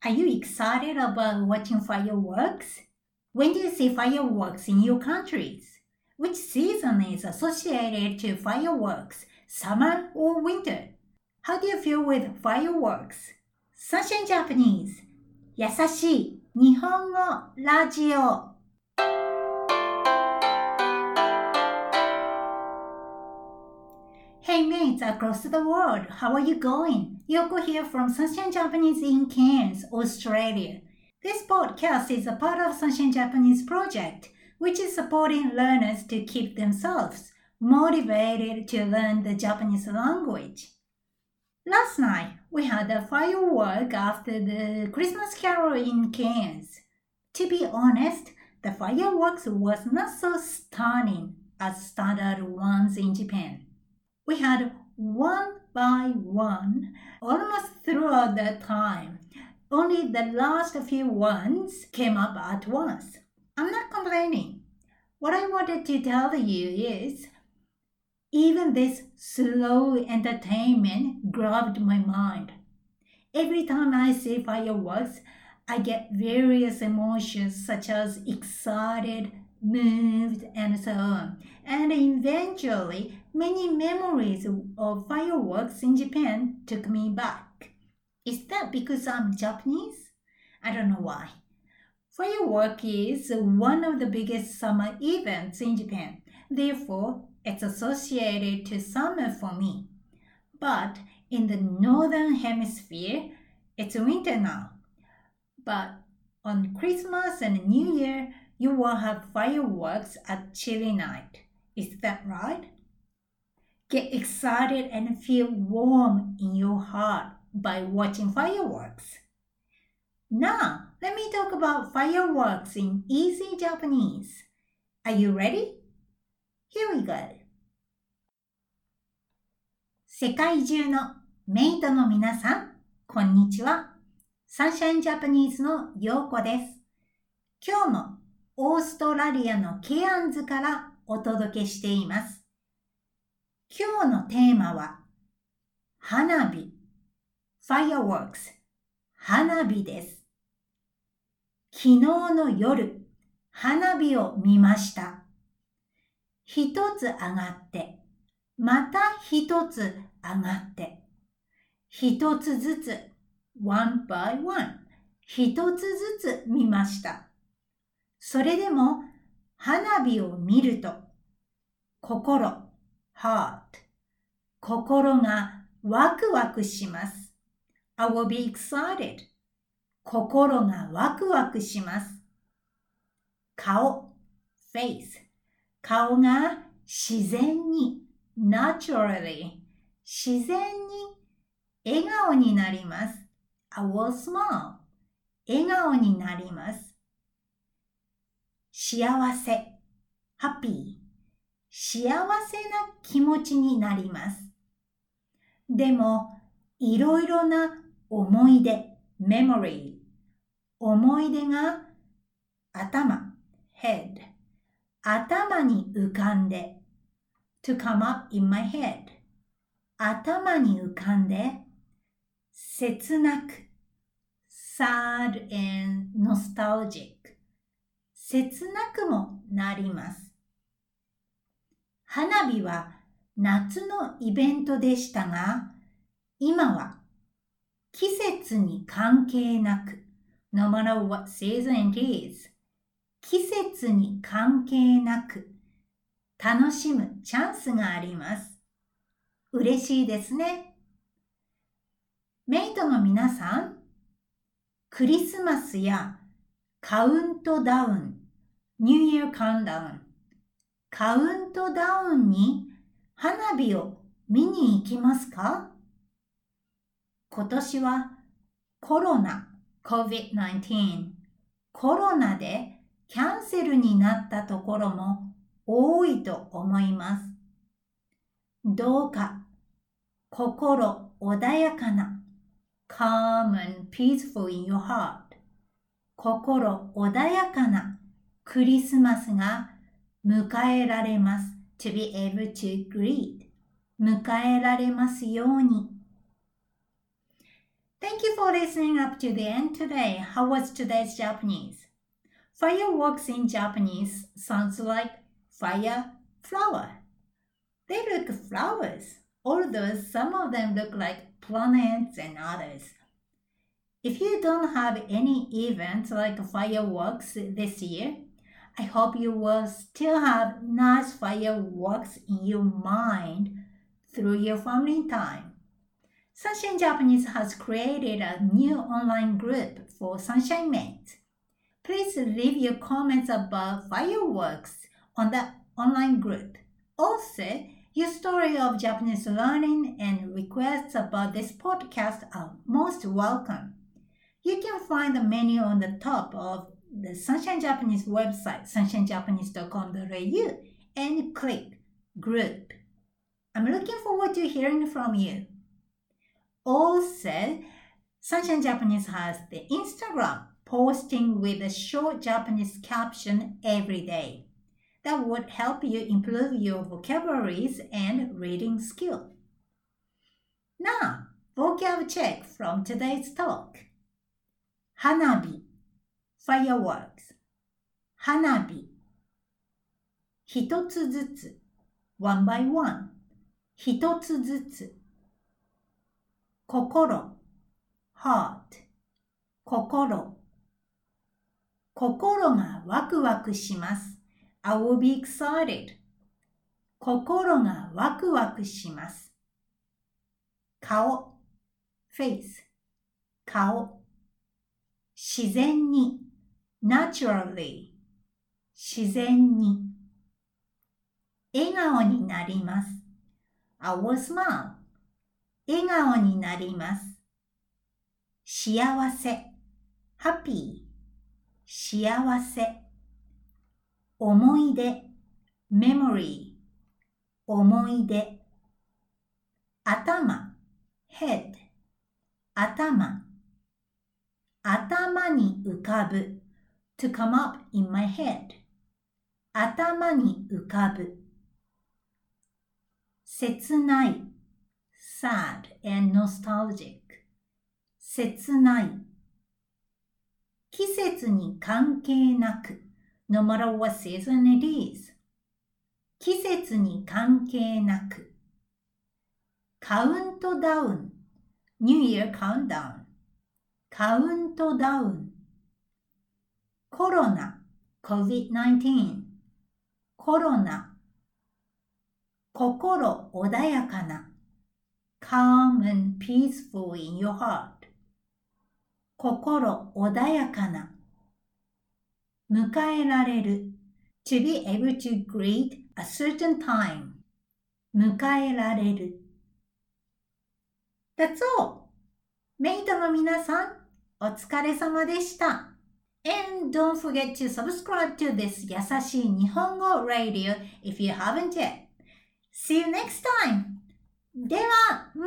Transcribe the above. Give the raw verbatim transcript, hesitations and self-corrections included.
Are you excited about watching fireworks? When do you see fireworks in your countries? Which season is associated to fireworks, summer or winter? How do you feel with fireworks? Sunshine Japanese 優しい日本語ラジオHey mates across the world, how are you going? Yoko here from Sunshine Japanese in Cairns, Australia. This podcast is a part of Sunshine Japanese project, which is supporting learners to keep themselves motivated to learn the Japanese language. Last night, we had a firework after the Christmas carol in Cairns. To be honest, the fireworks was not so stunning as standard ones in Japan. We had one by one almost throughout the time. Only the last few ones came up at once. I'm not complaining. What I wanted to tell you is, even this slow entertainment grabbed my mind. Every time I see fireworks, I get various emotions such as excited, moved, and so on. And eventually, many memories of fireworks in Japan took me back. Is that because I'm Japanese? I don't know why. Firework is one of the biggest summer events in Japan. Therefore, it's associated to summer for me. But in the northern hemisphere, it's winter now. But on Christmas and New Year, you will have fireworks at chilly night. Is that right? Get excited and feel warm in your heart by watching fireworks. Now, let me talk about fireworks in easy Japanese. Are you ready? Here we go. 世界中のメイトの皆さん、こんにちは。サンシャインジャパニーズのヨーコです。今日もオーストラリアのケアンズからお届けしています。今日のテーマは花火 Fireworks 花火です。昨日の夜花火を見ました。一つ上がってまた一つ上がって一つずつ one by one 一つずつ見ました。それでも花火を見ると心heart 心がワクワクします。I will be excited. 心がワクワクします。顔 face 顔が自然に naturally 自然に笑顔になります。I will smile 笑顔になります。幸せ happy幸せな気持ちになります。でも、いろいろな思い出、memory、思い出が頭、head、頭に浮かんで、to come up in my head、頭に浮かんで、切なく、sad and nostalgic、切なくもなります。花火は夏のイベントでしたが、今は季節に関係なく、no matter what season it is、季節に関係なく、楽しむチャンスがあります。嬉しいですね。メイトの皆さん、クリスマスやカウントダウン、ニューイヤーカウントダウン、カウントダウンに花火を見に行きますか？今年はコロナ コービッドナインティーン コロナでキャンセルになったところも多いと思います。どうか心穏やかな calm and peaceful in your heart 心穏やかなクリスマスが迎えられます。to be able to greet 迎えられますように。 Thank you for listening up to the end today. How was today's Japanese? Fireworks in Japanese sounds like fire flower. They look flowers, although some of them look like planets and others. If you don't have any events like fireworks this year, I hope you will still have nice fireworks in your mind through your family time. Sunshine Japanese has created a new online group for Sunshine Mates. Please leave your comments about fireworks on the online group. Also, your story of Japanese learning and requests about this podcast are most welcome. You can find the menu on the top of the Sunshine Japanese website, sunshine japanese dot com dot a u, and click Group. I'm looking forward to hearing from you. Also, Sunshine Japanese has the Instagram, posting with a short Japanese caption every day. That would help you improve your vocabularies and reading skill. Now, vocab check from today's talk. Hanabi, fireworks. Hanabi. 一つずつ one by one. 一つずつ。心 heart. 心。心がワクワクします。I will be excited. 心がワクワクします。顔 face. 顔。自然に naturally. 自然に。笑顔になります。I will smile. 笑顔になります。幸せ happy. 幸せ。思い出 memory. 思い出。頭 head. 頭。頭に浮かぶ to come up in my head. 頭に浮かぶ。切ない sad and nostalgic. 切ない。季節に関係なく no matter what season it is. 季節に関係なく。カウントダウン New Year Countdown. カウントダウン。コロナ コビッドナインティーン。コロナ。心穏やかな calm and peaceful in your heart. 心穏やかな。迎えられる to be able to greet a certain time. 迎えられる。That's all. メイトの皆さん、お疲れ様でした。And don't forget to subscribe to this 優しい日本語 radio if you haven't yet. See you next time. では、ま